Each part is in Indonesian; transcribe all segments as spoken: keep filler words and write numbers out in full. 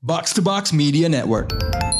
Box to Box Media Network.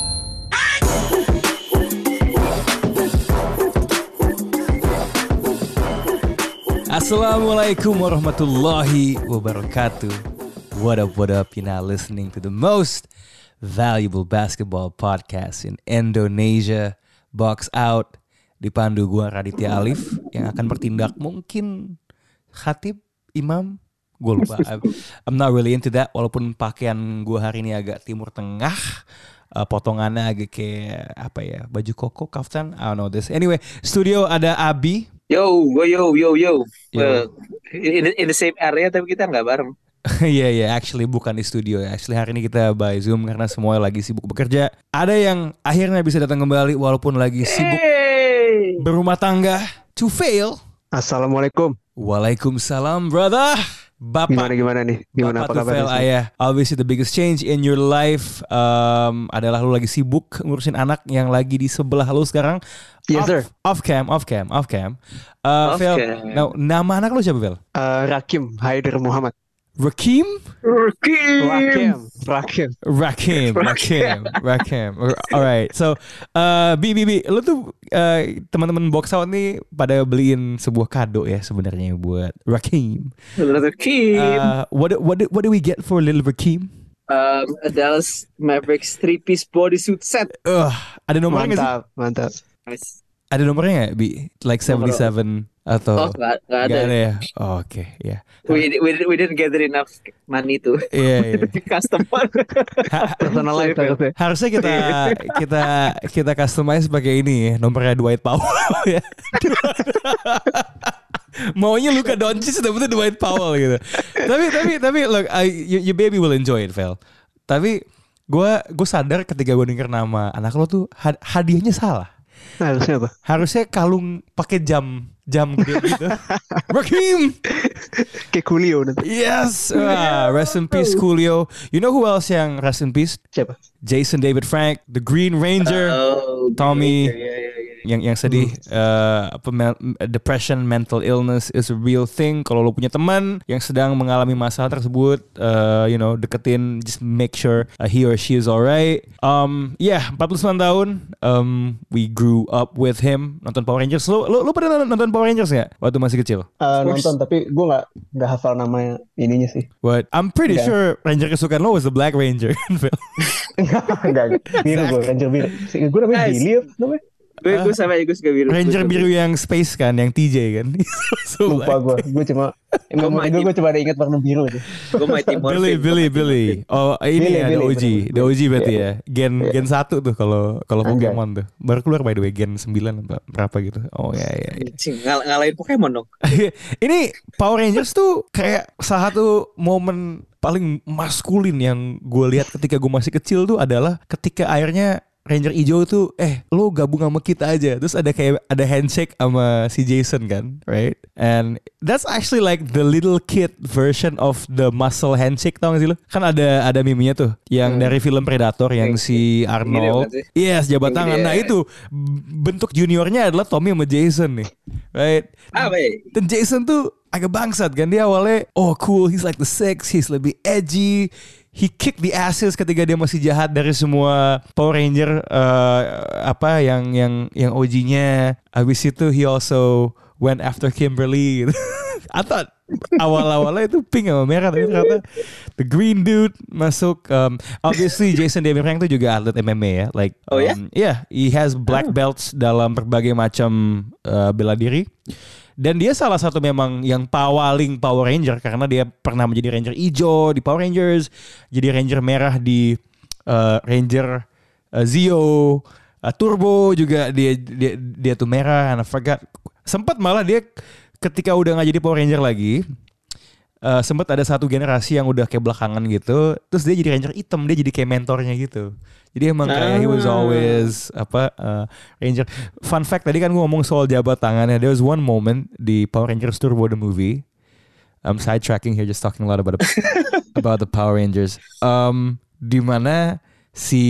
Assalamualaikum warahmatullahi wabarakatuh. What up, what up? You're now listening to the most valuable basketball podcast in Indonesia, Box Out. Dipandu gua Raditya Alif yang akan bertindak mungkin khatib, imam, gue lupa. I'm, I'm not really into that. Walaupun pakaian gue hari ini agak timur tengah, uh, potongannya agak kayak apa ya, baju koko, kaftan. I don't know this. Anyway, studio ada Abi. Yo, yo, yo, yo. Yo. Uh, in, the- in the same area tapi kita nggak bareng. Iya yeah, iya, yeah, actually bukan di studio ya. Actually hari ini kita by Zoom karena semua lagi sibuk bekerja. Ada yang akhirnya bisa datang kembali walaupun lagi sibuk Hey. berumah tangga. To fail. Assalamualaikum. Waalaikumsalam, brother. Bapak. Gimana gimana nih? Gimana Bapak apa kabar? Tufel Ayah. Obviously the biggest change in your life um, adalah lu lagi sibuk ngurusin anak yang lagi di sebelah lu sekarang. Yes off, sir. Off cam, off cam, off cam. Uh, Off Vel, cam. now, nama anak lu siapa, Vel? Uh, Rakim Haider Muhammad. Rakim? Rakim. Rakim. Rakim. Rakim, Rakim, Rakim. Alright, so uh, Bi, Bi, Bi, lu tuh uh, teman-teman Box Out nih pada beliin sebuah kado ya sebenarnya buat Rakim. Rakim. Uh, what what do- what do we get for little Rakim? Um, a Dallas Mavericks three-piece bodysuit set. Uh, ada nomornya nggak sih? Mantap, mantap. Nice. Ada nomornya nggak, Bi? Like seventy-seven atau? Oh, nggak nggak ada. Nggak ada ya? Oh, oke, ya. We, we we didn't gather enough money to Iya, iya. custom one. Ha- Personalize harusnya. Harusnya kita kita kita customize pakai ini ya, nomornya Dwight Powell ya. Maunya Luka Doncic dapetnya Dwight Powell gitu. Tapi tapi tapi look, I, your, your baby will enjoy it, Vel. Tapi gue gue sadar ketika gue denger nama anak lo tuh had- hadiahnya salah. Nah, harusnya apa? Harusnya kalung pakai jam jam gede gitu. Rakim. Kayak Coolio nanti. Yes, ah, rest in peace Coolio. You know who else yang rest in peace? Siapa? Jason David Frank, the Green Ranger, Oh, Tommy. yeah, yeah, yeah, yeah. yang yang sedih. Uh, apa, me- depression, mental illness is a real thing. Kalau lo punya teman yang sedang mengalami masalah tersebut, uh, you know, deketin, just make sure uh, he or she is alright. Um, yeah, empat puluh sembilan tahun. Um, we grew up with him. Nonton Power Rangers. Lo lo, lo pernah nonton Power Rangers nggak waktu masih kecil? Uh, course. nonton tapi gue nggak nggak hafal nama ininya sih. But I'm pretty Nggak. sure Ranger kesukaan lo was the Black Ranger. Enggak, enggak. Biru gue, Ranger biru. Gue namanya Nice. Billy apa namanya? Gue gue sama aja gue suka biru. Ranger Gue suka biru yang space kan, yang T J kan. So Lupa gue. Gue cuma Gua emang Mighty- gue gue cuma ada ingat warna biru aja. Gue Mighty Morphin. Billy, Gua Billy, Mighty Billy. Morphin. Oh ini Billy, ya, the Billy, O G, bener, the O G berarti Iya. ya. Gen Iya. Gen satu tuh kalau kalau Anjay. Pokemon tuh. Baru keluar by the way Gen sembilan apa berapa gitu. Oh ya ya. ya. Cing, ngal- ngalahin Pokemon dong. Ini Power Rangers tuh kayak salah satu momen paling maskulin yang gue lihat ketika gue masih kecil tuh adalah ketika akhirnya Ranger hijau tuh eh lo gabung sama kita aja. Terus ada kayak ada handshake sama si Jason kan, right? And that's actually like the little kid version of the muscle handshake, tau gak sih lo? Kan ada ada meme-nya tuh yang Hmm. dari film Predator yang Yang- si yang Arnold. gede bukan Yes, jabat Yang tangan. gede, Nah ya. itu b- bentuk juniornya adalah Tommy sama Jason nih, right? Ah, baik. Dan Jason tuh agak bangsat kan, dia awalnya oh cool, he's like the six, he's lebih edgy, he kick the asses ketika dia masih jahat dari semua Power Ranger uh, apa yang yang yang O G-nya. Habis itu he also went after Kimberly. I thought awal-awalnya itu pink sama merah, tapi ternyata the green dude masuk. Um, obviously Jason David Frank itu juga atlet M M A ya, like Oh, ya? um, yeah, he has black belts dalam berbagai macam uh, bela diri. Dan dia salah satu memang yang pawaling Power Ranger karena dia pernah menjadi Ranger hijau di Power Rangers, jadi Ranger merah di uh, Ranger uh, Zeo, uh, Turbo juga dia dia dia tuh merah. And I forgot. Sempat malah dia ketika udah nggak jadi Power Ranger lagi, uh, sempat ada satu generasi yang udah kayak belakangan gitu, terus dia jadi Ranger hitam, dia jadi kayak mentornya gitu. Jadi emang kayak he was always apa uh, Ranger. Fun fact, tadi kan gue ngomong soal jabat tangannya. There was one moment di Power Rangers Turbo the movie. I'm sidetracking here, just talking a lot about the, about the Power Rangers. Um, di mana si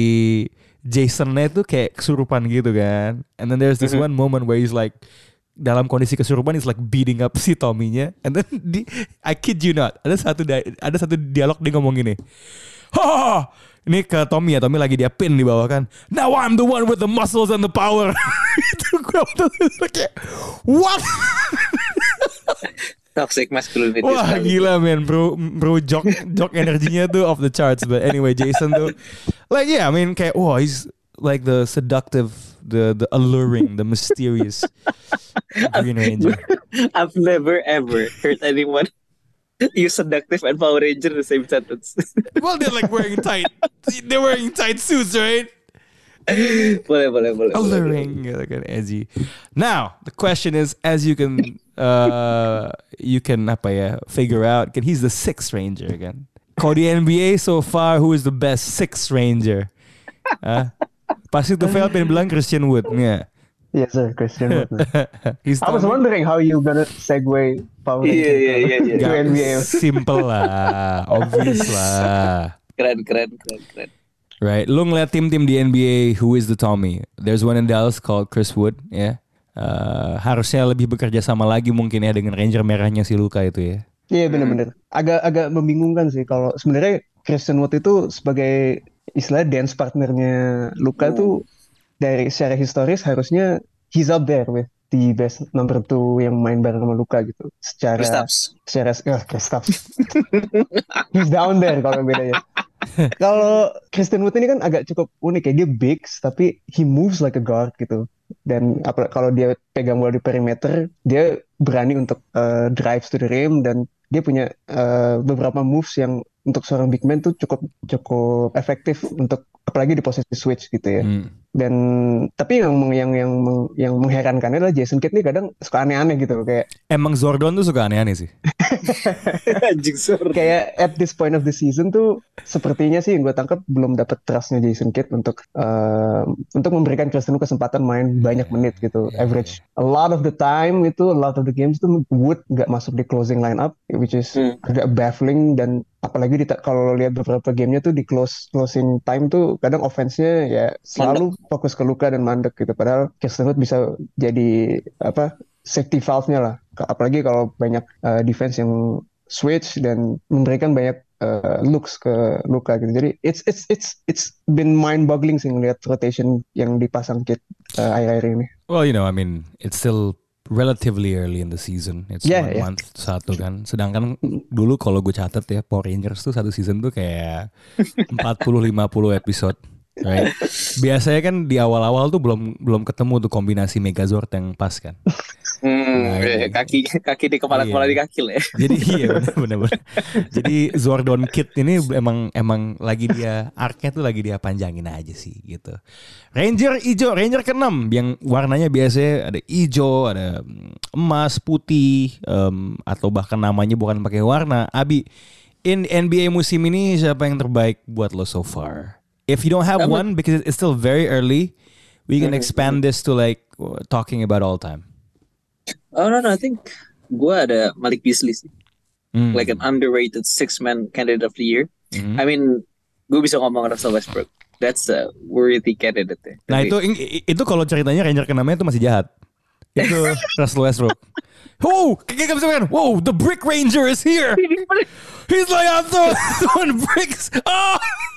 Jasonnya tuh kayak kesurupan gitu kan. And then there's this one moment where he's like dalam kondisi kesurupan, he's like beating up si Tommy-nya. And then di, I kid you not, ada satu ada satu dialog dia ngomong gini. Ha! Ini ke Tommy ya, Tommy lagi dia pin di bawah kan. Now I'm the one with the muscles and the power. Itu gue kayak what? Toxic masculinity. Wah gila men, bro, bro jok jok energinya tuh off the charts. But anyway, Jason tuh like yeah, I mean kayak wah he's like the seductive, the the alluring, the mysterious Green Ranger. I've never ever heard anyone use seductive and Power Ranger in the same sentence. Well, they're like wearing tight, they're wearing tight suits, right? boleh, boleh, boleh. Alluring, gitu kan, edgy. Now, the question is, as you can, uh, you can apa ya, figure out, kan he's the sixth Ranger kan. Kalau di N B A so far, who is the best sixth Ranger? Huh? Pasti tuh Fel pengen bilang Christian Wood, ya. Yes sir, Christian Wood. He's I was wondering how you gonna segue Power Ranger Iya, iya, iya, iya. to N B A. Simple lah, obvious lah. Keren, keren, keren, keren. Right, lu ngeliat tim-tim di N B A, who is the Tommy? There's one in Dallas called Chris Wood, ya. Yeah. Uh, harusnya lebih bekerja sama lagi mungkin ya dengan Ranger merahnya si Luka itu ya. Iya yeah, benar-benar. Agak-agak membingungkan sih kalau sebenarnya Christian Wood itu sebagai istilah dance partnernya Luka tuh dari secara historis harusnya he's up there with the best number two yang main bareng sama Luka gitu. Secara Kristaps. secara oh, Kristaps. He's down there kalau bedanya. Kalau Christian Wood ini kan agak cukup unik ya, dia big tapi he moves like a guard gitu. Dan apa kalau dia pegang bola di perimeter, dia berani untuk uh, drives to the rim dan dia punya uh, beberapa moves yang untuk seorang big man tuh cukup cukup efektif untuk apalagi di posisi switch gitu ya. Hmm. Dan tapi yang yang yang yang mengherankan adalah Jason Kidd nih kadang suka aneh-aneh gitu kayak emang Zordon tuh suka aneh-aneh sih. Anjing Zordon. Kayak at this point of the season tuh sepertinya sih yang gue tangkap belum dapat trustnya Jason Kidd untuk uh, untuk memberikan Christian Wood kesempatan main banyak menit gitu. Yeah, average yeah. A lot of the time itu a lot of the games tuh Wood nggak masuk di closing lineup, which is hmm. agak baffling. Dan apalagi di, kalau lihat beberapa gamenya tuh di close closing time tuh kadang offense-nya ya selalu mandek. Fokus ke Luka dan mandek gitu. Padahal Christian Wood bisa jadi apa safety valve-nya lah. Apalagi kalau banyak uh, defense yang switch dan memberikan banyak uh, looks ke Luka gitu. Jadi it's it's it's it's been mind-boggling sih ngelihat rotation yang dipasang Kidd uh, akhir-akhir ini. Well, you know, I mean, it's still relatively early in the season. It's yeah, one yeah. month satu kan. Sedangkan dulu kalau gue catat ya Power Rangers tuh satu season tuh kayak empat puluh lima puluh episode. Right. Biasanya kan di awal-awal tuh belum belum ketemu tuh kombinasi Megazord yang pas kan. Hmm, nah, eh, kaki kaki di kepala kepala iya. di kaki lah. Ya. Jadi iya benar-benar. Jadi Zordon Kidd ini emang emang lagi dia arc-nya tuh lagi dia panjangin aja sih gitu. Ranger hijau, Ranger keenam yang warnanya biasanya ada hijau, ada emas, putih, um, atau bahkan namanya bukan pakai warna. Abi, in N B A musim ini siapa yang terbaik buat lo so far? If you don't have I'm one, because it's still very early, we can expand this to like talking about all time. Oh no no, I think gue ada Malik Beasley sih, mm. like an underrated six man candidate of the year. Mm. I mean, gue bisa ngomong Russell Westbrook, that's a worthy candidate. Ya. Nah itu itu kalau ceritanya Ranger keenamnya itu masih jahat. Itu Russell Westbrook. Wow, kayak bisa kan? Wow, the Brick Ranger is here. He's like I'm throwing bricks. Oh.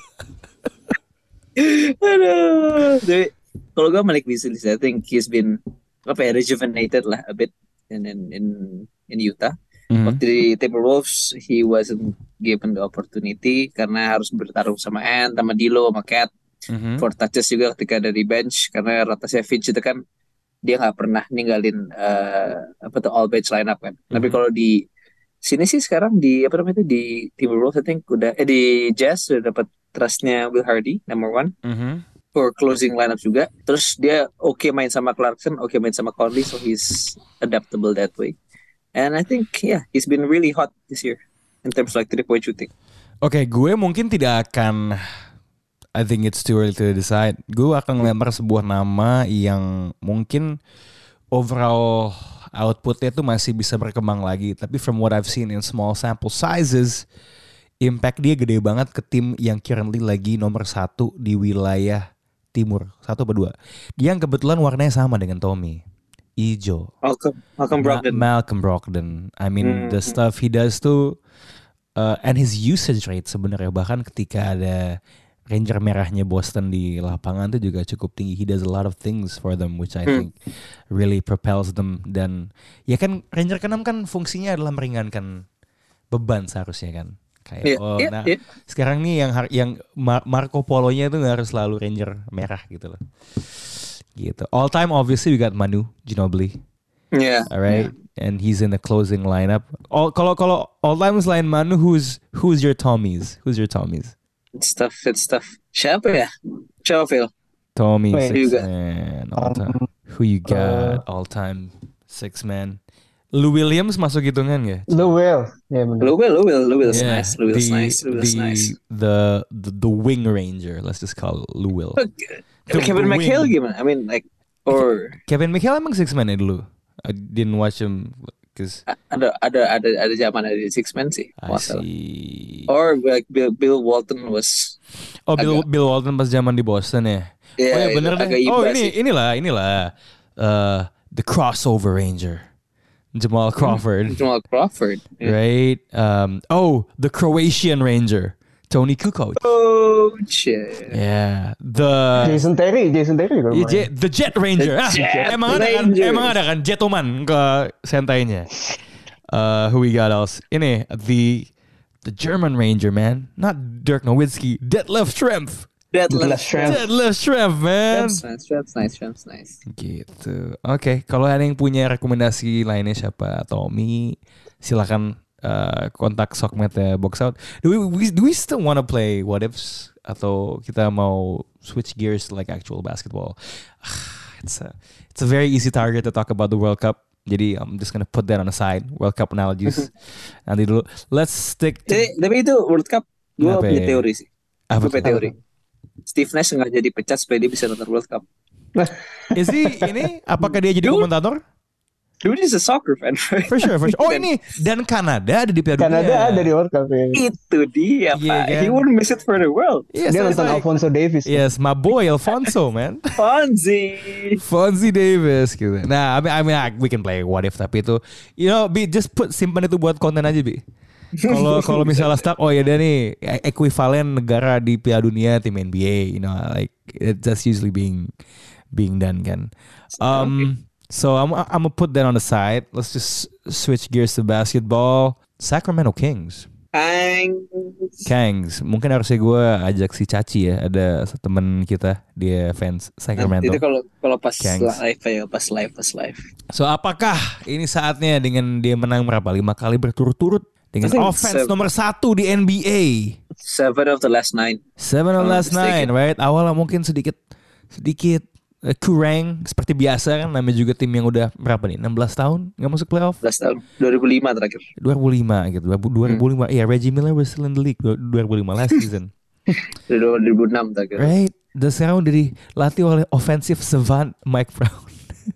Aduh. Jadi kalau gue Malik Beasley, I think he's been apa ya rejuvenated lah a bit in in in, in Utah. Mm-hmm. Waktu di Timberwolves he wasn't given the opportunity karena harus bertarung sama Ant, sama D'Lo, sama Cat mm-hmm. for touches juga ketika dari bench karena rotasinya Finch itu kan dia nggak pernah ninggalin uh, apa tuh all bench lineup kan. Mm-hmm. Tapi kalau di sini sih sekarang di apa namanya itu di Timberwolves I think udah eh di Jazz udah dapat trustnya Will Hardy number one mm-hmm. for closing lineup juga. Terus dia oke okay main sama Clarkson, oke okay main sama Conley, so he's adaptable that way. And I think yeah he's been really hot this year in terms of like three point shooting. Oke, okay, gue mungkin tidak akan. I think it's too early to decide. Gue akan ngelempar sebuah nama yang mungkin overall outputnya tuh masih bisa berkembang lagi. Tapi from what I've seen in small sample sizes, impact dia gede banget ke tim yang currently lagi nomor satu di wilayah timur. Satu atau dua. Dia yang kebetulan warnanya sama dengan Tommy. Ijo. Malcolm, Malcolm Brogdon. Ma- Malcolm Brogdon. I mean hmm. the stuff he does tuh uh, and his usage rate sebenarnya bahkan ketika ada Ranger merahnya Boston di lapangan itu juga cukup tinggi. He does a lot of things for them which I think really propels them. Dan ya kan Ranger keenam kan fungsinya adalah meringankan beban seharusnya kan. Kayak Yeah, oh yeah, nah yeah. sekarang nih yang yang Mar- Marco Polo-nya itu nggak harus selalu Ranger merah gitu loh. Gitu. All time obviously we got Manu Ginobili. Yeah. Alright, and he's in the closing lineup. All kalau kalau all time selain Manu, who's who's your Tommies? Who's your Tommies? It's tough. It's tough. Siapa ya? Siapa Phil? Tommy Wait. six You got- man all Um, time. Who you got all time six man? Lou Williams masuk hitungan ya? Lou Will. Ya benar. Lou Will, Lou Will, Lou Will's Yeah, nice. Lou Will's the, nice. Lou Will's the, nice. The, the the wing ranger. Let's just call it Lou Will. But, The Kevin wing. McHale gimana? I mean, like, or Kevin McHale emang six man ya dulu. I didn't watch him because ada ada ada ada zaman ada di six men sih. I Masalah. see. Or like Bill Bill Walton was. Oh, Bill agak- Bill Walton pas zaman di Boston ya. Ya, Oh ya itu bener agak deh. Oh iba ini sih. inilah inilah uh, the crossover ranger Jamal Crawford, Jamal Crawford. Yeah. right? Um, oh the Croatian ranger Tony Kukoc. Oh shit. Yeah, the Jason Terry, Jason Terry juga Yeah, lumayan. Jet- the Jet Ranger. The Ah, Jet emang ada kan? Ranger. Emang ada kan Jetoman ke sentainya. Uh, who we got else? Ini the the German Ranger man, not Dirk Nowitzki, Detlef Schrempf. Detlef Deadlift. Schrempf. Detlef Schrempf man. That's nice. That's nice. That's nice. Gitu. Oke, kalau ada yang punya rekomendasi lainnya siapa? Tommy, silakan uh, kontak Sokmed ya Box Out. Do we, we do we still want to play What Ifs atau kita mau switch gears to like actual basketball? It's a it's a very easy target to talk about the World Cup. Jadi I'm just gonna put that on the side. World Cup analogies. Nanti dulu. Let's stick to Jadi, tapi itu World Cup, gue Apa punya ya? teori sih. apa Gue punya tuh? teori. Steve Nash sengaja dipecat supaya dia bisa nonton World Cup. Is he ini? Apakah dia jadi Dude. komentator? Dude is a soccer fan, right? For sure, for sure. Oh ini dan Kanada ada di Piala Dunia. Kanada ada di World Cup ya. Itu dia, Iya, Pak. kan? He wouldn't miss it for the world. Yes, Dia so it's nonton like- Alfonso Davies. Yes, my boy Alfonso, man. Fonzie. Fonzie Davis gitu. Nah, I mean, I mean, ah, we can play what if tapi itu, you know, Bi, just put simpan itu buat konten aja, Bi. Kalau kalau misalnya stuck, oh ya udah nih, ekuivalen negara di Piala Dunia tim N B A, you know, like it's just usually being being done kan. Um, so I'm I'm gonna put that on the side. Let's just switch gears to basketball. Sacramento Kings. Ang. Kangs, mungkin harusnya gue ajak si Caci ya, ada temen kita, dia fans Sacramento. Itu kalau kalau pas Kangs. live ya, pas live, pas live. So apakah ini saatnya dengan dia menang berapa? Lima kali berturut-turut dengan I think offense so. nomor satu di N B A. Seven of the last nine. Seven of Oh, last nine, mistaken. right? Awalnya mungkin sedikit sedikit uh, kurang seperti biasa kan, namanya juga tim yang udah berapa nih? enam belas tahun nggak masuk playoff. Last tahun dua ribu lima terakhir. dua ribu lima gitu. dua ribu lima. Hmm. Iya, Reggie Miller was still in the league dua ribu lima last season. dua ribu enam terakhir. Right? Dan sekarang udah dilatih oleh offensive savant Mike Brown.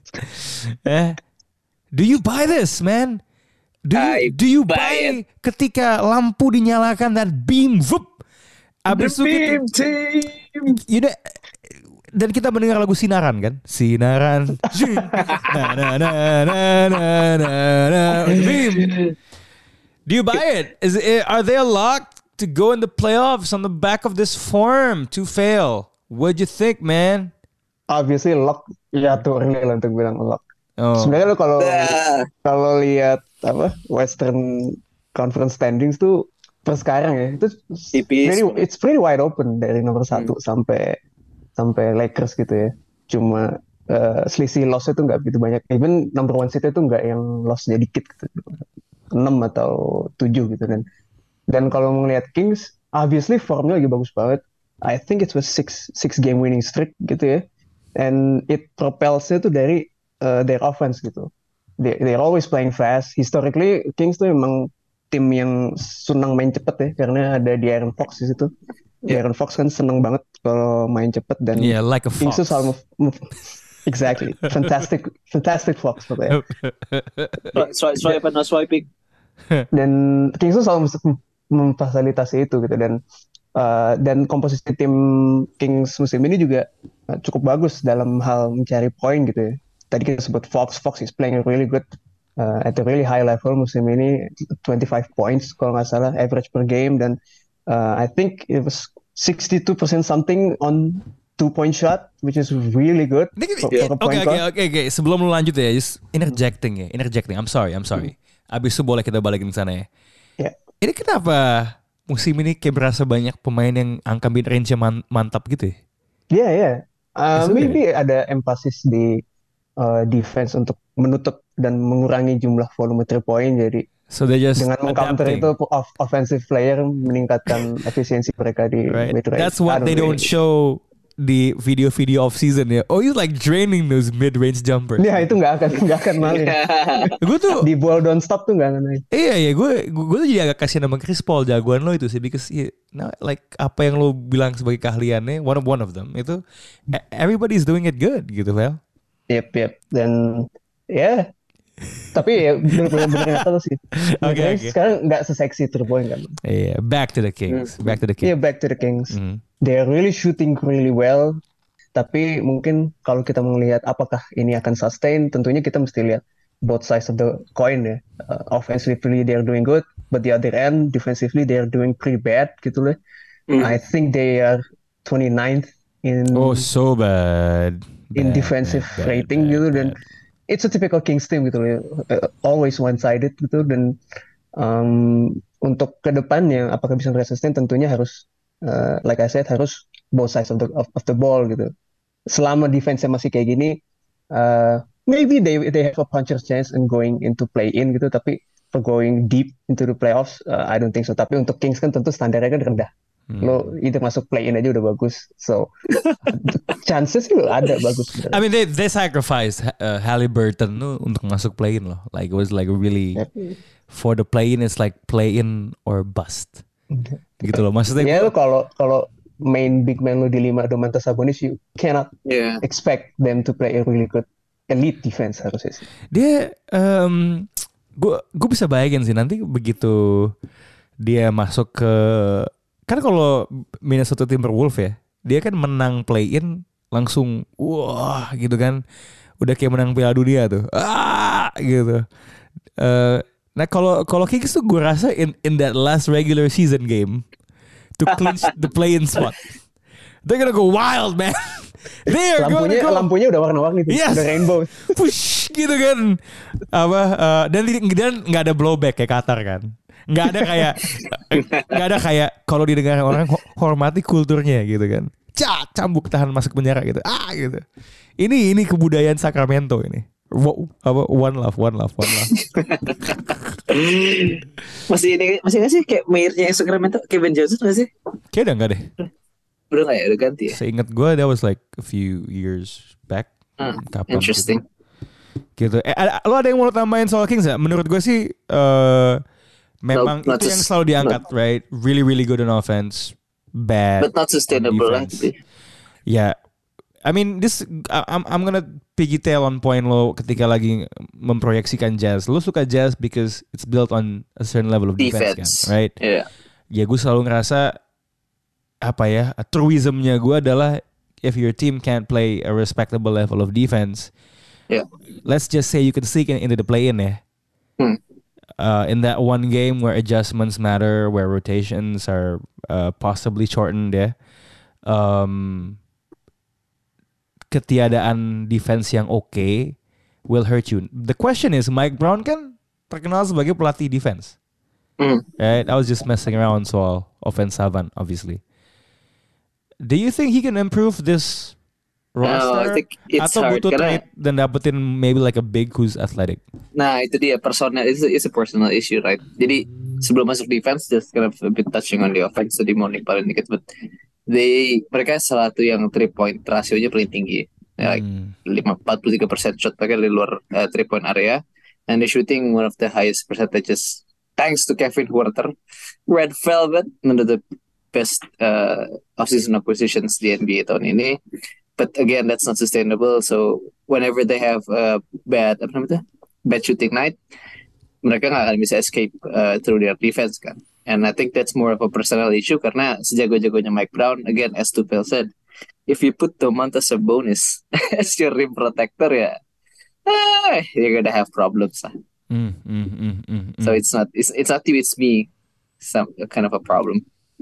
eh, do you buy this, man? Do you, I do you buy buy ketika lampu dinyalakan dan beam, vup, abis itu The kita, Beam Team. you know, dan kita mendengar lagu Sinaran kan, Sinaran, na na na na na na na, beam. Do you buy it? Is it? Are they locked to go in the playoffs on the back of this form to fail? What'd you think, man? Obviously lock ya tuh early lah untuk bilang lock. Oh, Sebenarnya lo kalau Dah. kalau lihat apa Western Conference standings tuh per sekarang ya itu Tipis. pretty, it's pretty wide open dari nomor satu sampai sampai Lakers gitu ya. Cuma eh, selisih loss itu nggak begitu banyak. Even number one seed itu nggak yang lossnya dikit gitu. enam atau tujuh gitu kan. Dan kalau melihat Kings, obviously formnya lagi bagus banget. I think it was six six game winning streak gitu ya. And it propelsnya tuh dari uh, their offense gitu. They, they're always playing fast. Historically, Kings tuh emang tim yang senang main cepet ya, karena ada De'Aaron Fox di situ. De'Aaron Fox kan senang banget kalau main cepet dan yeah, like a Kings fox. tuh selalu move, move. Exactly, fantastic, fantastic Fox pokoknya. Swipe, swipe, no swiping. Dan Kings tuh selalu mem- memfasilitasi itu gitu dan uh, dan komposisi tim Kings musim ini juga uh, cukup bagus dalam hal mencari poin gitu ya. Tadi kita sebut Fox, Fox is playing really good uh, at a really high level musim ini, twenty-five points kalau nggak salah average per game, dan uh, I think it was sixty-two percent something on two point shot, which is really good. for- Oke for a point oke guard. oke oke. Sebelum lu lanjut ya, just interjecting ya, interjecting. I'm sorry, I'm sorry. Abis itu boleh kita balikin ke sana ya. Ya. Ini kenapa musim ini kayak berasa banyak pemain yang angka mid range man- mantap gitu ya? Yeah, yeah. Uh, It's okay. maybe ada emphasis di uh, defense untuk menutup dan mengurangi jumlah volume three point. Jadi So they just dengan mengcounter adapting. itu off- offensive player meningkatkan efisiensi mereka di Right. mid range. That's what they don't show di video-video off season ya. Oh, he's like draining those mid range jumpers. Ya itu nggak akan nggak akan main. Gue tuh Di ball don't stop tuh nggak akan main. iya iya gue gue tuh jadi agak kasihan sama Chris Paul, jagoan lo itu sih, because yeah, nah, like apa yang lo bilang sebagai keahliannya, one of one of them itu e- everybody's doing it good gitu, Vel. Yep, yep. Dan ya, tapi ya benar-benar kata lu sih. Oke, Mid-range oke. sekarang nggak se-sexy three point kan. Iya, back to the Kings, back to the Yeah, Kings. back to the Kings. Mhm. They're really shooting really well. Tapi mungkin kalau kita melihat apakah ini akan sustain, tentunya kita mesti lihat both sides of the coin ya. Uh, offensively they're doing good, but the other end defensively they're doing pretty bad gitu loh. Hmm. I think they are twenty-ninth in Oh, so bad. in Bad, defensive bad, bad, rating bad, gitu, dan bad. it's a typical Kings team gitu loh. Uh, always one-sided gitu, dan um, untuk kedepannya apakah bisa resisten, tentunya harus uh, like I said, harus both sides of the of, of the ball gitu. Selama defense-nya masih kayak gini, uh, maybe they they have a puncher's chance in going into play-in gitu, tapi for going deep into the playoffs, uh, I don't think so. Tapi untuk Kings kan tentu standarnya kan rendah. Hmm. Lo either masuk play-in aja udah bagus. So chances sih ada bagus sebenarnya. I mean they they sacrificed uh, Halliburton tuh untuk masuk play-in loh. Like it was like really Yep. for the play-in, it's like play-in or bust. Gitu loh. Maksudnya Ya gua- lo kalau kalau main big man lo di lima Domantas Sabonis, you cannot Yeah. expect them to play a really good elite defense harusnya sih. dia um, gue gue bisa bayangin sih nanti begitu dia masuk ke, kan kalau Minnesota Timberwolves ya, dia kan menang play-in langsung wah gitu kan, udah kayak menang Piala Dunia tuh, ah gitu. Eh, nah kalau kalau Kings tuh gue rasa in in that last regular season game to clinch the play-in spot, they're gonna go wild, man. They're Lampunya gonna go lampunya udah warna-warni tuh, Yes. udah rainbow. push gitu kan, apa eh, dan dan nggak ada blowback kayak Qatar kan, nggak ada kayak nggak ada kayak kalau didengar orang ho- hormati kulturnya gitu kan, cak cambuk tahan masuk penjara gitu, ah gitu. Ini ini kebudayaan Sacramento ini. Wo- apa one love one love one love. Masih ini masih nggak sih kayak mayornya Sacramento, Kevin Johnson nggak sih? Kayak udah nggak deh. Udah nggak ya, udah ganti ya. Seingat gue that was like a few years back. Hmm, Kapan Interesting. gitu. Eh, ada, lo ada yang mau tambahin soal Kings ya? Menurut gue sih eh memang No, not itu yang sus- selalu diangkat, right? Really really good on offense, bad. But not sustainable lah. defense. Ya, I mean this I- I'm I'm gonna piggytail on point lo ketika lagi memproyeksikan Jazz. Lo suka Jazz because it's built on a certain level of defense, Defense. kan, right? Yeah. Ya gue selalu ngerasa apa ya, truismnya gue adalah if your team can't play a respectable level of defense, Yeah. let's just say you can sneak in, into the play-in ya. Hmm. Uh, in that one game where adjustments matter, where rotations are uh, possibly shortened ya. Um, ketiadaan defense yang oke will hurt you. The question is, Mike Brown kan terkenal sebagai pelatih defense. Hmm. Right? I was just messing around soal offense Savan, obviously. Do you think he can improve this roster? No, I think it's Atau hard butuh karena- trade dan dapetin maybe like a big who's athletic? Nah itu dia personal, it's a, it's a personal issue, right? Jadi sebelum masuk defense, just kind of a bit touching on the offense, jadi mau paling dikit, but they mereka salah satu yang three point rasionya paling tinggi, ya, like Hmm. lima empat puluh tiga persen shot mereka di luar uh, three point area, and they're shooting one of the highest percentages thanks to Kevin Huerter, Red Velvet, one of the best uh, offseason acquisitions di N B A tahun ini. But again, that's not sustainable. So whenever they have a bad apa namanya bad shooting night, mereka nggak akan bisa escape uh, through their defense kan. And I think that's more of a personal issue karena sejago-jagonya Mike Brown, again as Tupel said, if you put Domantas Sabonis as your rim protector ya, ah, you're gonna have problems lah. Mm, mm, mm, mm, So mm. it's not it's it's not you, it's me. Some kind of a problem.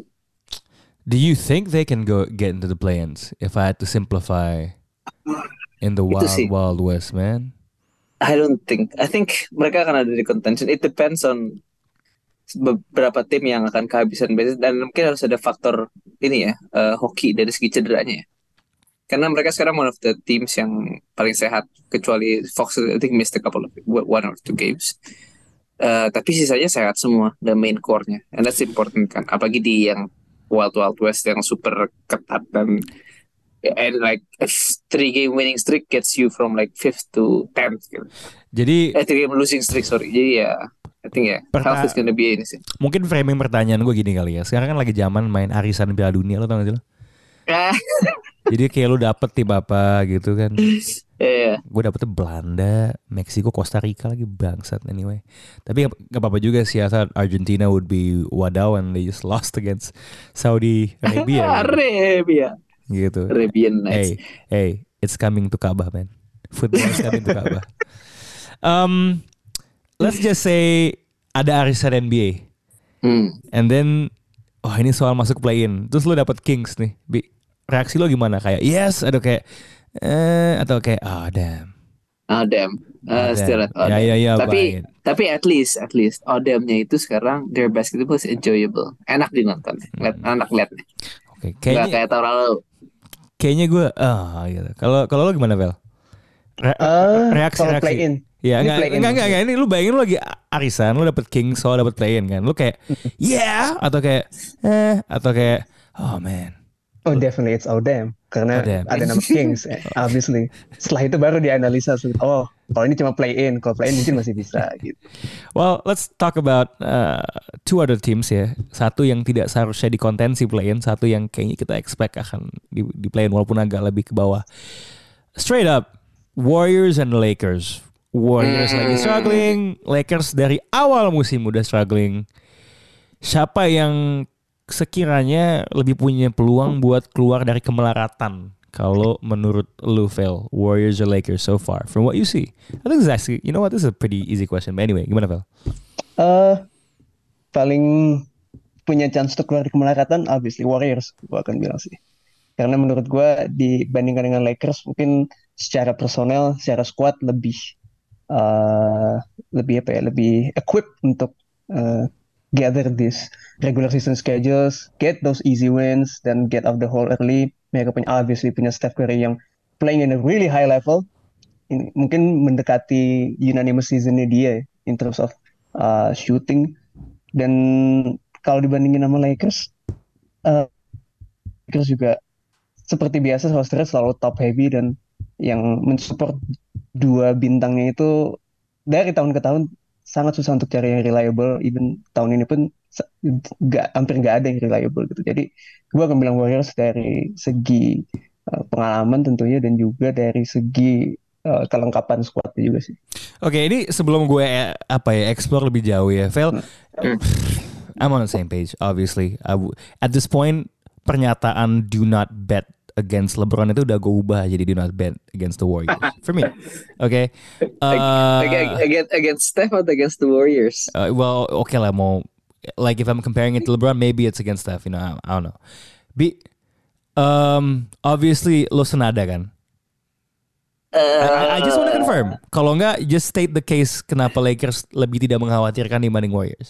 Do you think they can go get into the play-ins? If I had to simplify, in the Itu wild sih. wild west, man. I don't think. I think mereka akan ada di contention. It depends on beberapa tim yang akan kehabisan basis dan mungkin harus ada faktor ini ya, uh, hoki dari segi cederanya ya. Karena mereka sekarang one of the teams yang paling sehat kecuali Fox I think missed a couple of one or two games. Uh, tapi sisanya sehat semua, the main core-nya. And that's important kan. Apalagi di yang Wild Wild West yang super ketat dan and like a three game winning streak gets you from like fifth to tenth gitu. Jadi Eh three game losing streak sorry. Jadi ya I think ya Perta- health is gonna be ini sih. mungkin framing pertanyaan gue gini kali ya. Sekarang kan lagi zaman main arisan Piala Dunia, lo tau gak sih lo? Ah, Jadi kayak lu dapet tim apa gitu kan. Iya. Gue dapetnya Belanda, Meksiko, Costa Rica lagi bangsat anyway. Tapi gak, gak apa-apa juga sih. I thought Argentina would be wadaw and they just lost against Saudi Arabia. gitu. Arabia. Gitu. Arabian Nights. Hey, hey, it's coming to Kaabah, man. Football is coming to Kaabah. Um, let's just say ada arisan N B A, Hmm. and then, oh ini soal masuk play-in. Terus lu dapet Kings nih. Bi, reaksi lo gimana? Kayak yes, atau kayak eh, atau kayak oh damn. Oh damn. Uh, Oh, still damn. at Ya, ya, ya, tapi baik. tapi at least at least Odemnya itu sekarang their basketball is enjoyable. Enak dinonton. Lihat anak lihat nih. Oke, Nggak kayaknya kayak tahun lalu. kayaknya gue ah gitu. Kalau kalau lo gimana, Vel? Re- Eh, reaksi kalau reaksi. play-in. Ya Ini enggak, play-in enggak, enggak, enggak. Ini lu bayangin lu lagi arisan, lu dapet Kings, so dapet play-in kan. Lu kayak yeah atau kayak eh atau kayak oh man. Oh definitely it's oh damn karena Oh, damn. ada nama Kings eh, obviously. Setelah itu baru dianalisa oh kalau ini cuma play in, kalau play in mungkin masih bisa gitu. Well, let's talk about uh, two other teams ya. Satu yang tidak seharusnya di kontensi play-in, satu yang kayaknya kita expect akan di, di play-in walaupun agak lebih ke bawah. Straight up, Warriors and Lakers. Warriors Hmm. lagi struggling, Lakers dari awal musim udah struggling. Siapa yang sekiranya lebih punya peluang buat keluar dari kemelaratan? Kalau menurut lu, Vel, Warriors or Lakers so far, from what you see? I think it's actually, you know what, this is a pretty easy question. But anyway, gimana, Vel? Eh paling punya chance untuk keluar dari kemelaratan obviously Warriors gua akan bilang sih. Karena menurut gua dibandingkan dengan Lakers mungkin secara personel, secara squad lebih uh, lebih apa ya, lebih equipped untuk uh, gather this regular season schedules, get those easy wins, dan get off the hole early. Mereka punya obviously punya Steph Curry yang playing in a really high level. Ini, mungkin mendekati unanimous seasonnya dia in terms of uh, shooting. Dan kalau dibandingin sama Lakers, uh, Lakers juga seperti biasa rosternya selalu top heavy dan yang mensupport dua bintangnya itu dari tahun ke tahun sangat susah untuk cari yang reliable. Even tahun ini pun nggak hampir nggak ada yang reliable gitu. Jadi gue akan bilang Warriors dari segi uh, pengalaman tentunya dan juga dari segi uh, kelengkapan squadnya juga sih. Oke, ini sebelum gue eh, apa ya explore lebih jauh ya, Vel. I'm on the same page, obviously. I w- at this point, pernyataan do not bet against LeBron itu udah gue ubah jadi do not bet against the Warriors. For me, okay. Uh, Ag- against against Steph atau against the Warriors? uh, well, okay lah mau like if I'm comparing it to LeBron, maybe it's against Steph. You know, I, I don't know. Be, um, obviously lo senada kan. I, I just want to confirm. Kalau enggak, just state the case kenapa Lakers lebih tidak mengkhawatirkan dibanding Warriors.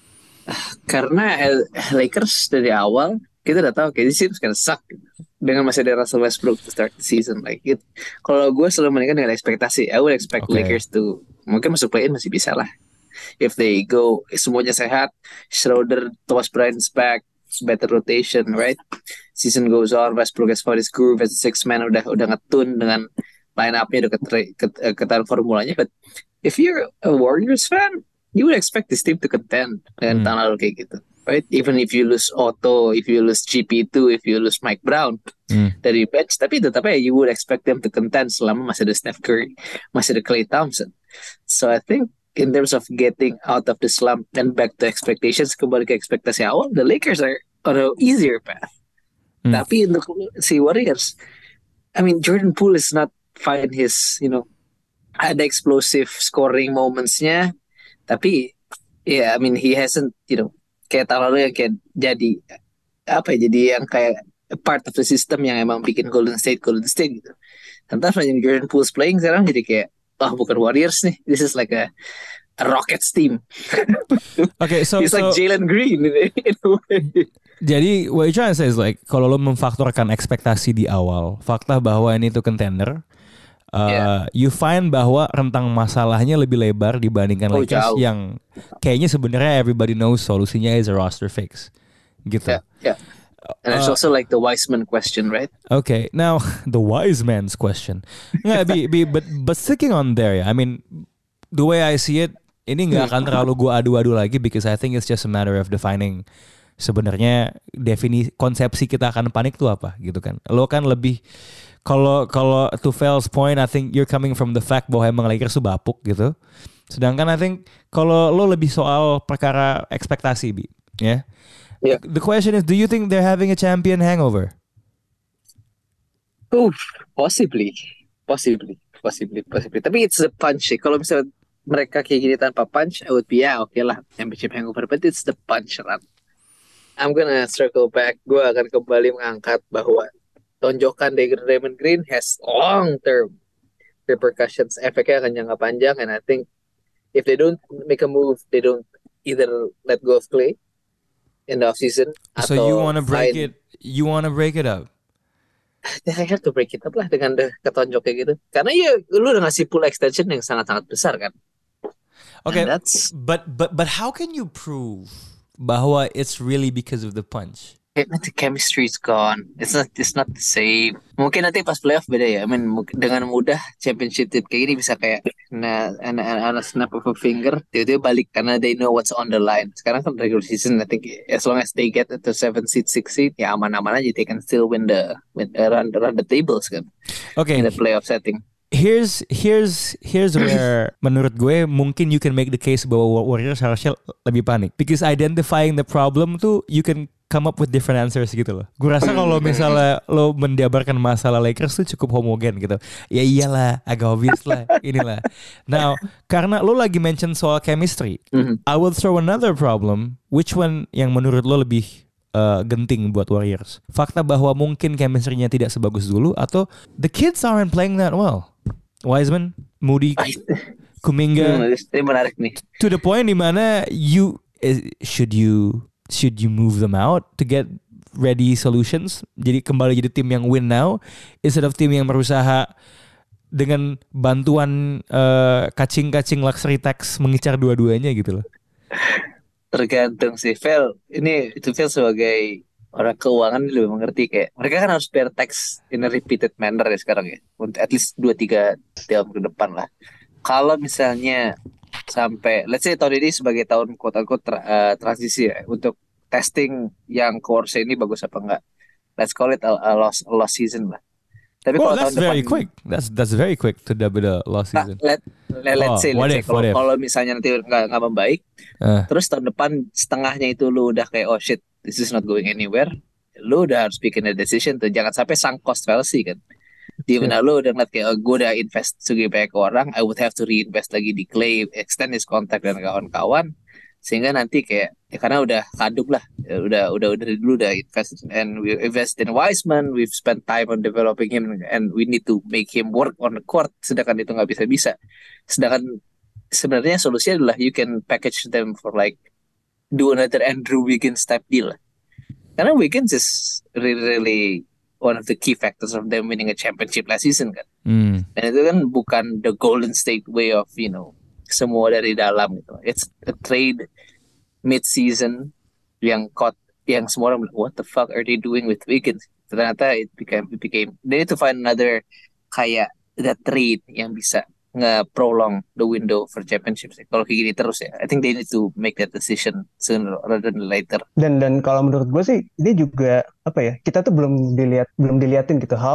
Karena L- Lakers dari awal kita udah tahu kayak this team's gonna suck dengan masih ada Russell Westbrook to start the season like it. Kalau gue selalu menikah dengan ekspektasi, I would expect Okay. Lakers to mungkin masuk play-in masih bisa lah. If they go semuanya sehat, Schroeder, Thomas Bryant's back, it's better rotation, right? Season goes on, Westbrook has found his groove as a six man udah udah ngetun dengan line up-nya udah ketre- ket- eh, ketan formulanya. But if you're a Warriors fan, you would expect this team to contend dengan Hmm. tahun lalu kayak gitu, right? Even if you lose Otto, if you lose G P two, if you lose Mike Brown Hmm. dari bench, tapi tetap aja you would expect them to contend selama masih ada Steph Curry, masih ada Klay Thompson. So I think in terms of getting out of the slump and back to expectations, kembali ke ekspektasi awal, the Lakers are on a easier path. Hmm. Tapi untuk si Warriors, I mean Jordan Poole is not find his, you know, ada explosive scoring momentsnya, tapi ya, yeah, I mean he hasn't, you know, kayak tahun lalu yang kayak jadi apa ya, jadi yang kayak part of the system yang emang bikin Golden State Golden State gitu. Entah yang Jordan Poole's playing sekarang jadi kayak, oh bukan Warriors nih, this is like a, a Rockets team. Okay, so he's so like Jalen Green in, in a way. Jadi what you trying to say is like kalau lo memfaktorkan ekspektasi di awal, fakta bahwa ini tuh contender, uh, Yeah. you find bahwa rentang masalahnya lebih lebar dibandingkan Oh, Lakers jauh. yang kayaknya sebenarnya everybody knows solusinya is a roster fix, gitu. Yeah, yeah. And there's Uh, also like the Wiseman question, right? Okay, now the wise man's question. Nggak, be, be, but but sticking on there ya. I mean, the way I see it, ini nggak akan terlalu gua adu-adu lagi because I think it's just a matter of defining sebenarnya definisi konsepsi kita akan panik tuh apa gitu kan. Lo kan lebih kalau kalau to Fel's point, I think you're coming from the fact bahwa emang Lakers tuh bapuk gitu. Sedangkan I think kalau lo lebih soal perkara ekspektasi, Bi, ya. Yeah. The question is, do you think they're having a champion hangover? Oof, possibly, possibly, possibly, possibly. Tapi it's the punch. Eh. Kalau misalnya mereka kayak gini tanpa punch, I would be ya oke okay lah championship hangover. But it's the punch run. I'm gonna circle back. Gue akan kembali mengangkat bahwa tonjokan dari Draymond Green has long term repercussions. Efeknya akan jangka panjang. And I think if they don't make a move, they don't either let go of Clay in the offseason. So you want to break it? You want to break it up? I have to break it up lah dengan ketonjok kayak gitu. Karena ya lu udah ngasih pool extension yang sangat-sangat besar kan. Okay, that's... but but but how can you prove bahwa it's really because of the punch? The chemistry is gone. It's not it's not the same. Mungkin nanti pas playoff beda ya. I mean dengan mudah championship team kayak ini bisa kayak na na na snap of a finger tiba-tiba balik karena they know what's on the line. Sekarang kan regular season I think as long as they get to seven seed, six seed ya aman-aman aja, they can still win the win uh, run run the tables kan. Okay. In the playoff setting. Here's here's here's where menurut gue mungkin you can make the case bahwa Warriors harusnya lebih panik because identifying the problem tuh you can come up with different answers gitu loh. Gue rasa kalau misalnya lo menjabarkan masalah Lakers tuh cukup homogen gitu. Ya iyalah, agak obvious lah, inilah. Now, karena lo lagi mention soal chemistry, Mm-hmm. I will throw another problem. Which one yang menurut lo lebih uh, genting buat Warriors? Fakta bahwa mungkin chemistry-nya tidak sebagus dulu atau the kids aren't playing that well. Wiseman, Moody, Kuminga. Hmm, ini menarik nih. To the point dimana you is, should you should you move them out to get ready solutions? Jadi kembali jadi tim yang win now instead of tim yang berusaha dengan bantuan uh, kacing-kacing luxury tax mengincar dua-duanya gitu loh. Tergantung sih, Vel. Ini itu Vel sebagai orang keuangan lebih mengerti kayak mereka kan harus bayar tax in a repeated manner ya sekarang ya. Untuk at least dua tiga tahun ke depan lah. Kalau misalnya sampai let's say tahun ini sebagai tahun quote-unquote tra- uh, transisi ya untuk testing yang course ini bagus apa enggak, let's call it a, a lost a lost season lah. Tapi Well, kalau that's tahun very depan, quick. That's that's very quick to dub it a lost nah, season. let, let let's Oh, say, what let's say if, what kalau if? kalau misalnya nanti nggak nggak membaik, Uh, terus tahun depan setengahnya itu lu udah kayak oh shit this is not going anywhere, lu udah harus bikin a decision tuh, jangan sampai sunk cost fallacy kan. Di mana lu udah ngeliat kayak oh, gue udah invest segitu banyak ke orang, I would have to reinvest lagi di Clay, extend his contract dan kawan-kawan, sehingga nanti kayak ya karena udah kadung lah, ya, udah udah udah dari dulu udah invest and we invest in Wiseman, we've spent time on developing him and we need to make him work on the court, sedangkan itu nggak bisa-bisa. Sedangkan sebenarnya solusinya adalah you can package them for like do another Andrew Wiggins type deal. Karena Wiggins is really really one of the key factors of them winning a championship last season kan. mm. Dan itu kan bukan the Golden State way of you know semua dari dalam gitu. It's a trade mid-season yang caught yang semua orang bilang, what the fuck are they doing with Wiggins? Ternyata it became it became they need to find another kayak that trade yang bisa nge-prolong the window for championships. Kalau kayak gini terus ya, I think they need to make that decision sooner rather than later. Dan dan kalau menurut gue sih ini juga apa ya, kita tuh belum dilihat belum diliatin gitu how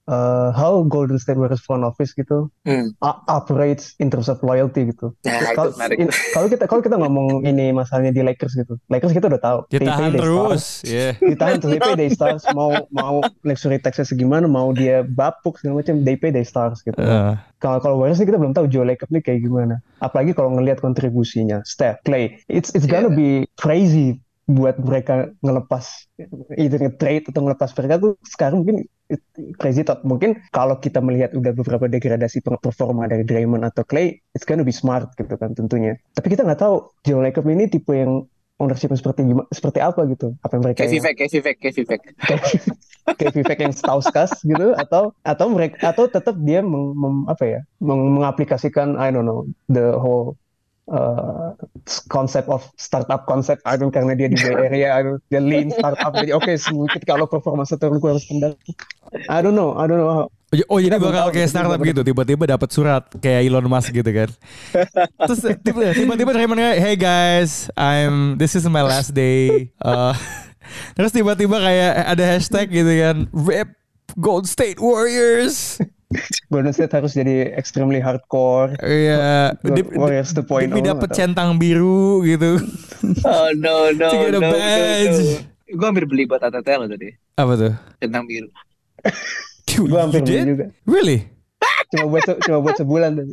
uh, how Golden State Warriors front office gitu Hmm. uh, operates in terms of loyalty gitu. Nah, Kalau itu menarik. in- kalau kita kalau kita ngomong ini masalahnya di Lakers gitu, Lakers kita udah tahu. They pay Ditahan their terus. stars, Yeah. ditahan terus, they pay their stars. Mau mau luxury taxnya segimana, mau dia bapuk segala macam, they pay their stars gitu. Uh, Kalau kalau Warriors ini kita belum tahu Joe Lacob nih kayak gimana. Apalagi kalau ngelihat kontribusinya Steph, Clay, it's it's gonna be crazy buat mereka ngelepas either nge-trade atau ngelepas mereka tuh sekarang mungkin it- crazy thought. Mungkin kalau kita melihat udah beberapa degradasi pe- performa dari Draymond atau Clay, it's gonna be smart gitu kan tentunya. Tapi kita nggak tahu Joe Lacob ini tipe yang ownership seperti gimana, seperti apa gitu. Apa yang mereka Kayak Vivek, kayak Vivek, kayak Vivek. kayak Vivek yang stauskas gitu atau atau mereka atau tetap dia meng, mem- apa ya meng- mengaplikasikan I don't know the whole uh, concept of startup concept I don't karena dia di Bay Area I don't, dia lean startup jadi oke sedikit kalau performance turun gue harus pindah I don't know I don't know how- Oh jadi Kita belum bakal tahu, kayak kita startup belum gitu, tiba-tiba dapat surat kayak Elon Musk gitu kan. Terus tiba- tiba-tiba Draymond kayak, hey guys, I'm this is my last day. Uh, terus tiba-tiba kayak ada hashtag gitu kan, rip Gold State Warriors. Golden State harus jadi extremely hardcore Iya, Gold Dip- Warriors two point oh Dip dapet atau- centang biru gitu. Oh no no To get a no no, badge. no. Gue hampir beli buat Atete lo tadi. Apa tuh? Centang biru. You, gue hampir you beli did? juga Really? cuma buat se- cuma buat sebulan tapi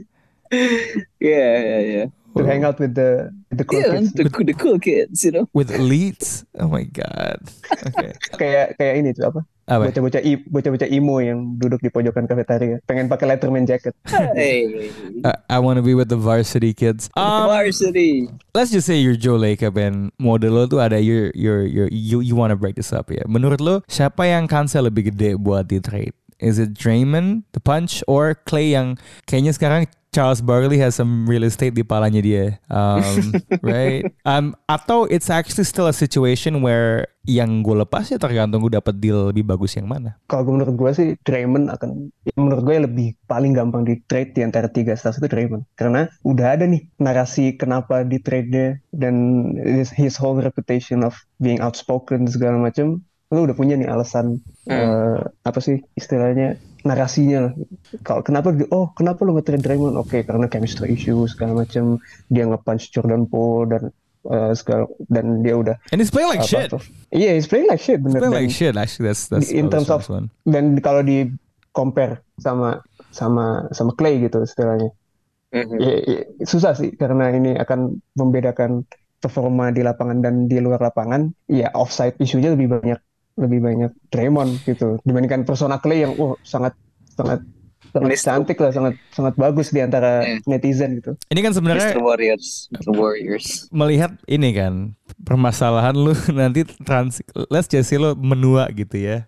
Iya iya iya. to hang out with the with the cool Iya, kids the, the cool kids, you know. With elites? Oh my god. Okay. kayak kayak ini tuh apa Apa? bocah-bocah i- bocah-bocah emo yang duduk di pojokan kafetaria pengen pakai Letterman jacket Hey, Uh, I want to be with the varsity kids. Um, varsity. let's just say you're Joe Lacob and model lo tuh ada your your your you you want to break this up ya. Menurut lo siapa yang kansnya lebih gede buat di trade? Is it Draymond, the punch, or Clay yang kayaknya sekarang Charles Barkley has some real estate di palanya dia, um, right? Um, atau it's actually still a situation where yang gue lepas ya tergantung gue dapat deal lebih bagus yang mana. kalau gue menurut gue sih Draymond akan ya menurut gue yang lebih paling gampang di trade di antara tiga stars itu Draymond karena udah ada nih narasi kenapa di trade nya dan his, his whole reputation of being outspoken segala macam lu udah punya nih alasan eh, apa sih istilahnya narasinya lah. Kalau kenapa di- oh kenapa lu nge-trade Draymond oke karena chemistry issue segala macam dia nge-punch Jordan Poole dan eh, segala dan dia udah And he's playing like apa shit. tuh iya he's playing like shit He's bener playing dan, like shit. Actually, that's that's in terms that's of one. dan kalau di compare sama sama sama Clay gitu istilahnya Mhm. ya, ya, susah sih karena ini akan membedakan performa di lapangan dan di luar lapangan ya offside isunya lebih banyak lebih banyak Draymond gitu dibandingkan persona Clay yang oh sangat sangat sangat Mister cantik lah sangat sangat bagus di antara Yeah. netizen gitu Ini kan sebenarnya Mister Warriors, Mister Warriors. melihat ini kan permasalahan lu nanti trans let's just say lo menua gitu ya.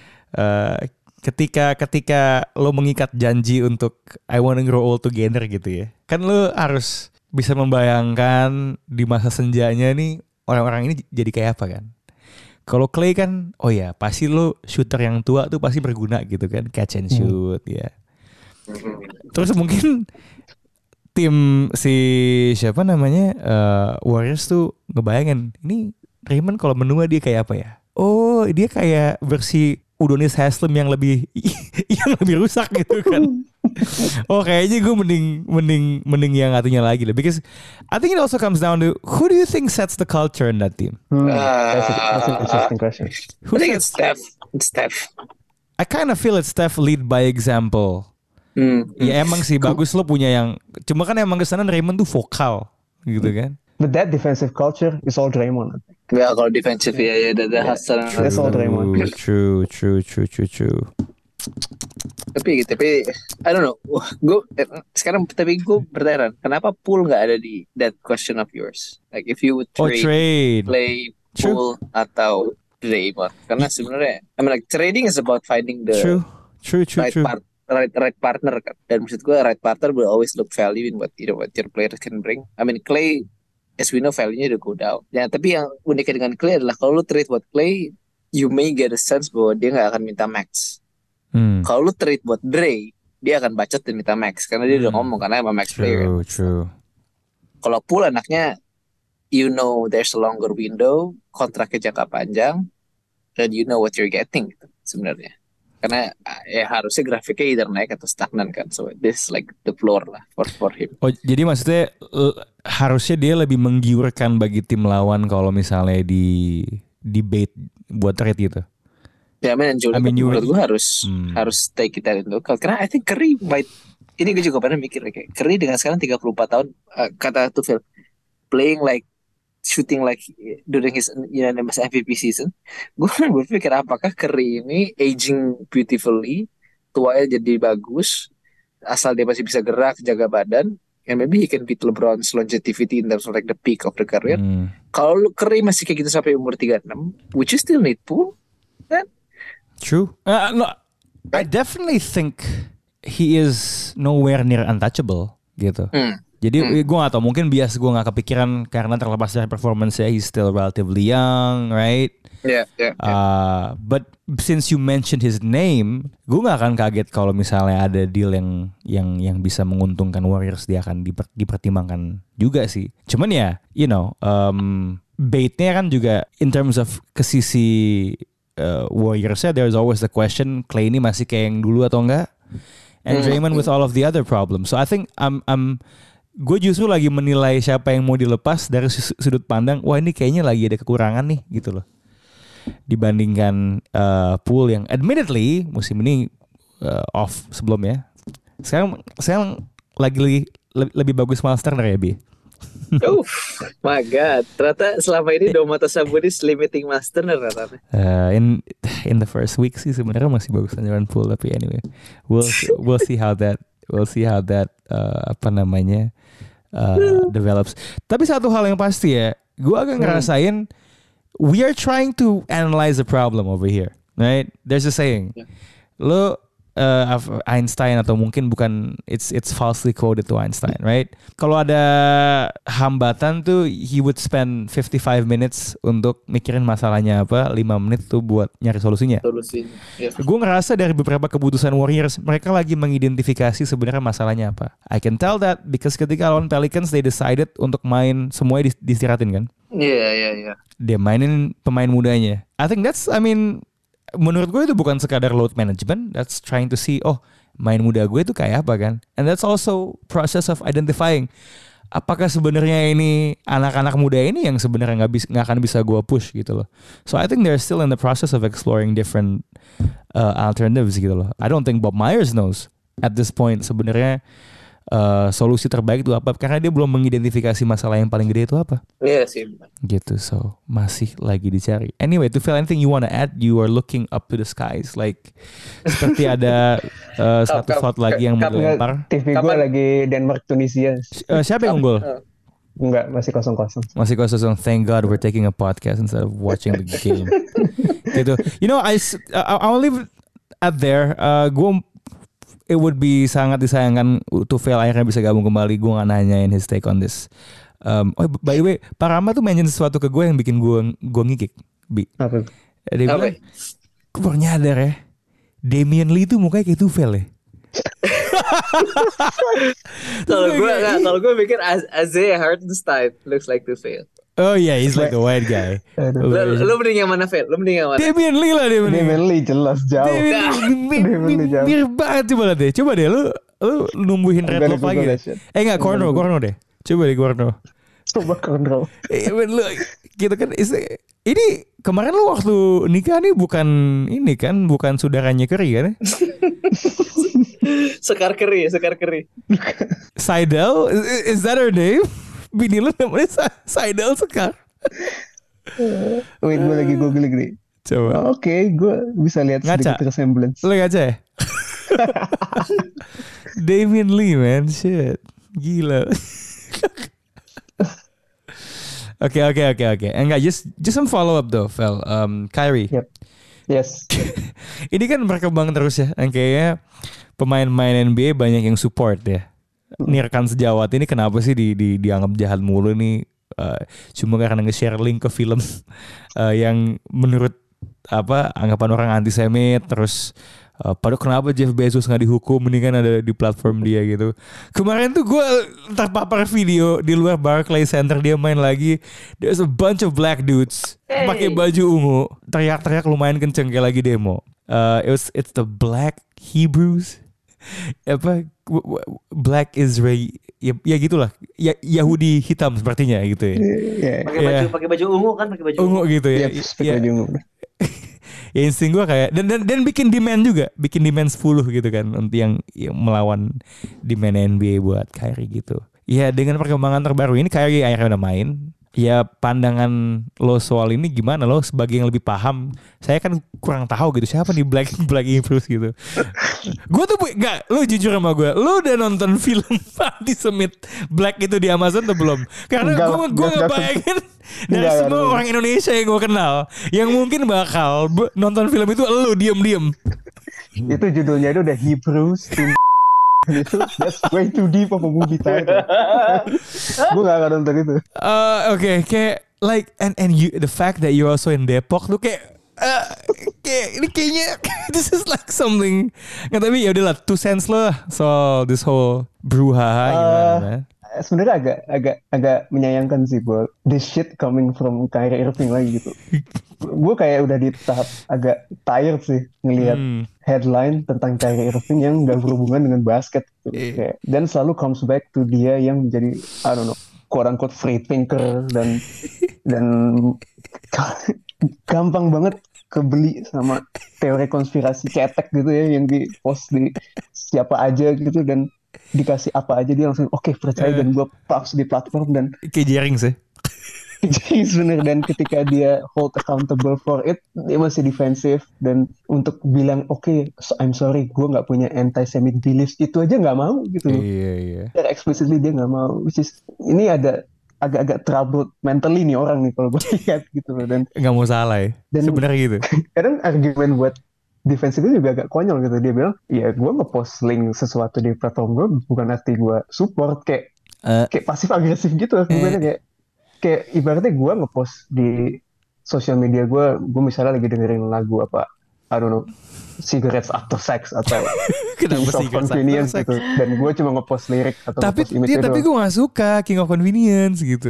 Eh, ketika ketika lo mengikat janji untuk I wanna grow old together gitu ya. Kan lo harus bisa membayangkan di masa senjanya nih orang-orang ini jadi kayak apa kan. Kalau Clay kan oh ya pasti lo shooter yang tua tuh pasti berguna gitu kan, catch and shoot ya. Terus mungkin tim si siapa namanya eh, Warriors tuh ngebayangin ini Draymond kalau menua dia kayak apa ya? Oh dia kayak versi Udonis Haslem yang lebih yang lebih rusak gitu kan? Oh kayaknya gue mending mending mending yang atunya lagi lah. Because I think it also comes down to who do you think sets the culture in that team? Hmm, that's, a, that's an interesting question I think it's Steph. It's Steph. I kind of feel it's Steph lead by example. Hmm. Ya emang sih bagus lo punya yang cuma kan emang kesana Draymond tuh vokal gitu kan. but that defensive culture is all Draymond Ya kalau defensive ya ya ada ada hustle. That's all Draymond. True, true, true, true, true. Tapi tapi I don't know. Gue sekarang tapi gue bertanya kenapa Poole nggak ada di that question of yours? Like if you would Oh trade, trade. play True. Poole atau Draymond, karena sebenarnya I mean like trading is about finding the True, true, true, right true. part right right partner kan. Dan maksud gue right partner will always look value in what you know what your players can bring. I mean Clay as we know value-nya udah go down. Ya tapi yang uniknya dengan Clay adalah kalau lu trade buat Clay, you may get a sense bahwa dia nggak akan minta max. Hmm. Kalau lu trade buat Dre, dia akan bacot dan minta max karena dia udah Hmm. ngomong karena emang max player. True, true. Kalau Poole anaknya, you know there's a longer window, kontraknya jangka panjang, dan you know what you're getting gitu, sebenarnya. Karena ya harusnya grafiknya either naik atau stagnan kan. So this like the floor lah for for him. Oh, jadi maksudnya uh, harusnya dia lebih menggiurkan bagi tim lawan kalau misalnya di debate buat trade gitu. Ya, man, Jordan I mean, you- menurut gue harus Hmm. harus take it into account. Karena I think Curry might, ini gue juga pernah mikir kayak Curry dengan sekarang tiga puluh empat tahun, uh, kata Tuchel, playing like shooting like during his unanimous M V P season. Gue berpikir apakah Curry ini aging beautifully, tuanya jadi bagus, asal dia masih bisa gerak, jaga badan, and maybe he can beat LeBron's longevity in terms of like the peak of the career. Hmm. Kalau lu Curry masih kayak gitu sampai umur tiga puluh enam, would you still need Poole? Kan? True. Uh, no, I definitely think he is nowhere near untouchable gitu. Hmm. Jadi gue gak tau, mungkin bias gue gak kepikiran karena terlepas dari performance-nya, he's still relatively young, right? Yeah, yeah, yeah. Uh, but since you mentioned his name, gue gak akan kaget kalau misalnya ada deal yang yang yang bisa menguntungkan Warriors, dia akan diper, dipertimbangkan juga sih. Cuman ya, you know, um, bait-nya kan juga in terms of ke sisi uh, Warriors-nya, there's always the question, Clay ini masih kayak yang dulu atau enggak? And Draymond with all of the other problems. So I think I'm I'm gue justru lagi menilai siapa yang mau dilepas dari sudut pandang, wah ini kayaknya lagi ada kekurangan nih gitu loh, dibandingkan uh, Poole yang admittedly musim ini uh, off sebelumnya. Sekarang sekarang lagi lebih, lebih bagus Miles Turner ya, Bi. Oh my god, ternyata selama ini Domantas Sabonis limiting master ternyata. Uh, in in the first week sih sebenarnya masih bagus Jaron Poole, tapi anyway, we'll we'll see how that we'll see how that uh, apa namanya uh, develops. Tapi satu hal yang pasti ya, gue agak ngerasain we are trying to analyze the problem over here, right? There's a saying, lo uh, Einstein atau mungkin bukan, it's it's falsely quoted to Einstein, right? Kalau ada hambatan tuh he would spend fifty-five minutes untuk mikirin masalahnya apa, lima menit tuh buat nyari solusinya. Solusinya. Yeah. Gue ngerasa dari beberapa keputusan Warriors, mereka lagi mengidentifikasi sebenarnya masalahnya apa. I can tell that because ketika lawan Pelicans they decided untuk main semuanya diistirahatin kan. Iya, yeah, iya, yeah, iya. Yeah. Dia mainin pemain mudanya. I think that's, I mean, menurut gue itu bukan sekadar load management, that's trying to see, oh main muda gue itu kayak apa kan. And that's also process of identifying, apakah sebenarnya ini anak-anak muda ini yang sebenarnya nggak bisa nggak akan bisa gue push gitu loh. So I think they're still in the process of exploring different uh, alternatives gitu loh. I don't think Bob Myers knows at this point sebenarnya uh, solusi terbaik itu apa, karena dia belum mengidentifikasi masalah yang paling gede itu apa. Iya sih. Gitu, so masih lagi dicari. Anyway, to feel anything you wanna add, you are looking up to the skies like seperti ada uh, satu Kap- shot lagi yang mau kap- dilempar. T V gue Kapan- lagi Denmark Tunisia. Uh, siapa yang unggul? Enggak, masih kosong-kosong. Masih kosong. Thank God we're taking a podcast instead of watching the game. Gitu. You know, I s- I- I'll leave it at there. Uh, gue it would be sangat disayangkan Tuchel akhirnya bisa gabung kembali. Gue gak nanyain his take on this. Um, oh by the way, Pak Rama tuh mention sesuatu ke gue yang bikin gue gue ngikik. Bi. Apa? Dia Apa? bilang, gue baru nyadar ya, Damian Lee tuh mukanya kayak Tuchel ya. Kalau gue nggak, kalau gue mikir Az- Isaiah Hartenstein looks like to fail. Oh yeah, he's like the white guy. Aduh. Lu, lu mending yang mana fail? Lu mending yang mana? Damian Lee lah Damian Lee. Damian Lee jelas jauh. Damian Lee Damian Lee jauh. mirip banget, coba lihat deh. Coba deh lu lu numbuhin I'm red gonna lock lagi. Google deh. that shit. Eh enggak, corner, corner deh. Coba deh corner. Coba kontrol. Eh, lu gitu kan is- ini kemarin lu waktu nikah nih bukan ini kan, bukan saudaranya Curry kan? Sekar Keri, Sekar Keri. Seidel, is, is that her name? Bini lu namanya Sa- Seidel Sekar. Wait, gue lagi googling nih. Coba. Oke, gue bisa lihat Ngaca. sedikit resemblance. Lu ngaca ya? Damian Lee man, shit. Gila. Oke oke oke oke. Enggak, just just some follow up though, Fel. Um, Kyrie. Yep. Yes. Ini kan berkembang terus ya. Yang kayaknya pemain-pemain N B A banyak yang support ya. Nirkan Sejawat ini kenapa sih di, di dianggap jahat mulu nih? Uh, cuma karena nge-share link ke film uh, yang menurut apa anggapan orang antisemit, terus uh, padahal kenapa Jeff Bezos nggak dihukum, mendingan ada di platform dia gitu. Kemarin tuh gue terpapar video di luar Barclays Center, dia main lagi, there's a bunch of black dudes Hey. pakai baju ungu, teriak-teriak lumayan kenceng kayak lagi demo. Uh, it was it's the Black Hebrews. Apa Black Israel ya, ya gitulah ya, Yahudi hitam sepertinya gitu ya. Yeah. Pakai baju Yeah. pakai baju ungu kan pakai baju Ungu gitu ya. Yep, Ya, pakai ungu. ya insting gue kayak dan, dan dan bikin demand juga, bikin demand sepuluh gitu kan untuk yang, yang melawan demand N B A buat Kyrie gitu. Ya dengan perkembangan terbaru ini Kyrie akhirnya udah main. Ya pandangan lo soal ini gimana lo sebagai yang lebih paham? Saya kan kurang tahu gitu siapa nih Black Black Hebrews gitu. Gue tuh nggak, lo jujur sama gue, lo udah nonton film anti-Semit Black itu di Amazon atau belum? Karena Enggak, gue gue enggak, enggak. ngebayangin dari Enggak, semua enggak. orang Indonesia yang gue kenal yang mungkin bakal be- nonton film itu lo diem-diem. Itu judulnya itu udah Hebrews to itu that's way too deep of a movie title. Gue gak akan nonton itu. Uh, Oke, kayak like and and you the fact that you also in Depok tuh kayak uh, kayak ini kayaknya this is like something. Nggak, tapi ya udahlah two cents lah soal this whole brouhaha gimana Uh, man? Sebenarnya agak agak agak menyayangkan sih gue this shit coming from Kyrie Irving lagi gitu. Gue kayak udah di tahap agak tired sih ngelihat Hmm. headline tentang Kyrie Irving yang gak berhubungan dengan basket gitu. Iya. Kayak, dan selalu comes back to dia yang menjadi I don't know quote unquote free thinker dan dan gampang banget kebeli sama teori konspirasi cetek gitu ya yang di post di siapa aja gitu dan dikasih apa aja dia langsung oke percaya Eh. dan gue post di platform dan Kayak jaring sih. sebenarnya dan ketika dia hold accountable for it dia masih defensif dan untuk bilang oke so, I'm sorry gue nggak punya anti-Semitic beliefs itu aja nggak mau gitu loh. Iya iya. Secara explicitly dia nggak mau which is ini ada agak-agak troubled mentally nih orang nih kalau gue lihat gitu loh dan Nggak mau salah ya. Dan- Sebenarnya gitu. kadang argumen buat defense itu juga agak konyol gitu dia bilang ya gue ngepost link sesuatu di platform gue bukan arti gue support kayak Eh. kayak pasif agresif gitu lah bukannya kayak kayak ibaratnya gue ngepost di sosial media gue gue misalnya lagi dengerin lagu apa I don't know cigarettes after sex atau Kenapa Kings of sih Cigarettes Convenience After Sex? gitu dan gue cuma ngepost lirik atau Tapi ngepost image ya, tapi gue gak suka King of Convenience gitu.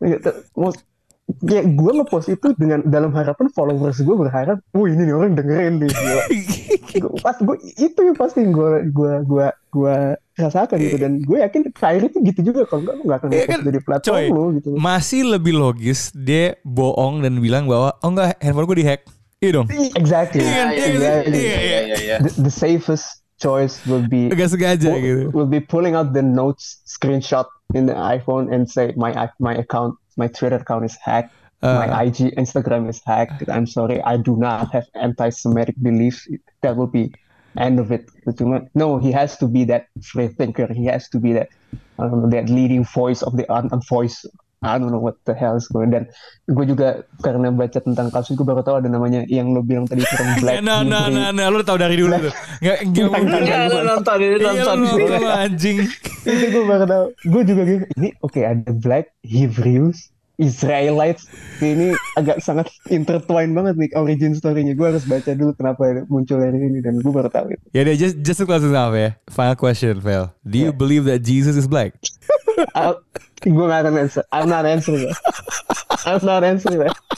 ya gue ngepost itu dengan dalam harapan followers gue berharap wah ini nih orang dengerin nih gua, gua- pas gue itu yang pasti gue gue gue gue rasakan gitu dan gue yakin Kyrie itu gitu juga kalau enggak lu nggak akan Iya ngepost kan, dari platform coy. lo gitu. Masih lebih logis dia bohong dan bilang bahwa oh enggak handphone gue dihack. Iya dong. Exactly. Iya kan? Iya kan? Exactly. Iya, iya. iya iya. The, the safest choice will be Agak sengaja will, gitu. will be pulling out the notes screenshot in the iPhone and say my my account my Twitter account is hacked. My Uh, I G Instagram is hacked. I'm sorry, I do not have anti-Semitic beliefs. That will be end of it. Cuma, no, he has to be that free thinker. He has to be that I don't know, that leading voice of the un voice. I don't know what the hell is going. Dan gue juga karena baca tentang kasus gue baru tahu ada namanya yang lo bilang tadi kurang black. nah, nah, Hebrew. nah, nah, lu tahu dari dulu tuh. Nggak, nggak Enggak, mungkin. enggak, Iya, lu nonton ini Iya, nonton. lu nonton anjing. Itu gue baru tahu. Gue juga gitu. Ini oke ada black Hebrews. Israelites ini agak sangat intertwined banget nih origin story-nya. Gue harus baca dulu kenapa muncul dari ini dan gue baru tahu itu. Ya deh, just just to close this off ya. Final question, Vel. Do you Yeah. believe that Jesus is black? Gue gak akan answer. I'm not answering that. I'm not answering that.